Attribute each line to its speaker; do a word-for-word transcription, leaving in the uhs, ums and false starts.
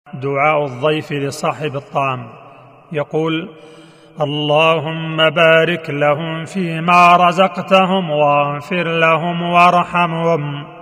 Speaker 1: دعاء الضيف لصاحب الطعام، يقول: اللهم بارك لهم فيما رزقتهم واغفر لهم وارحمهم.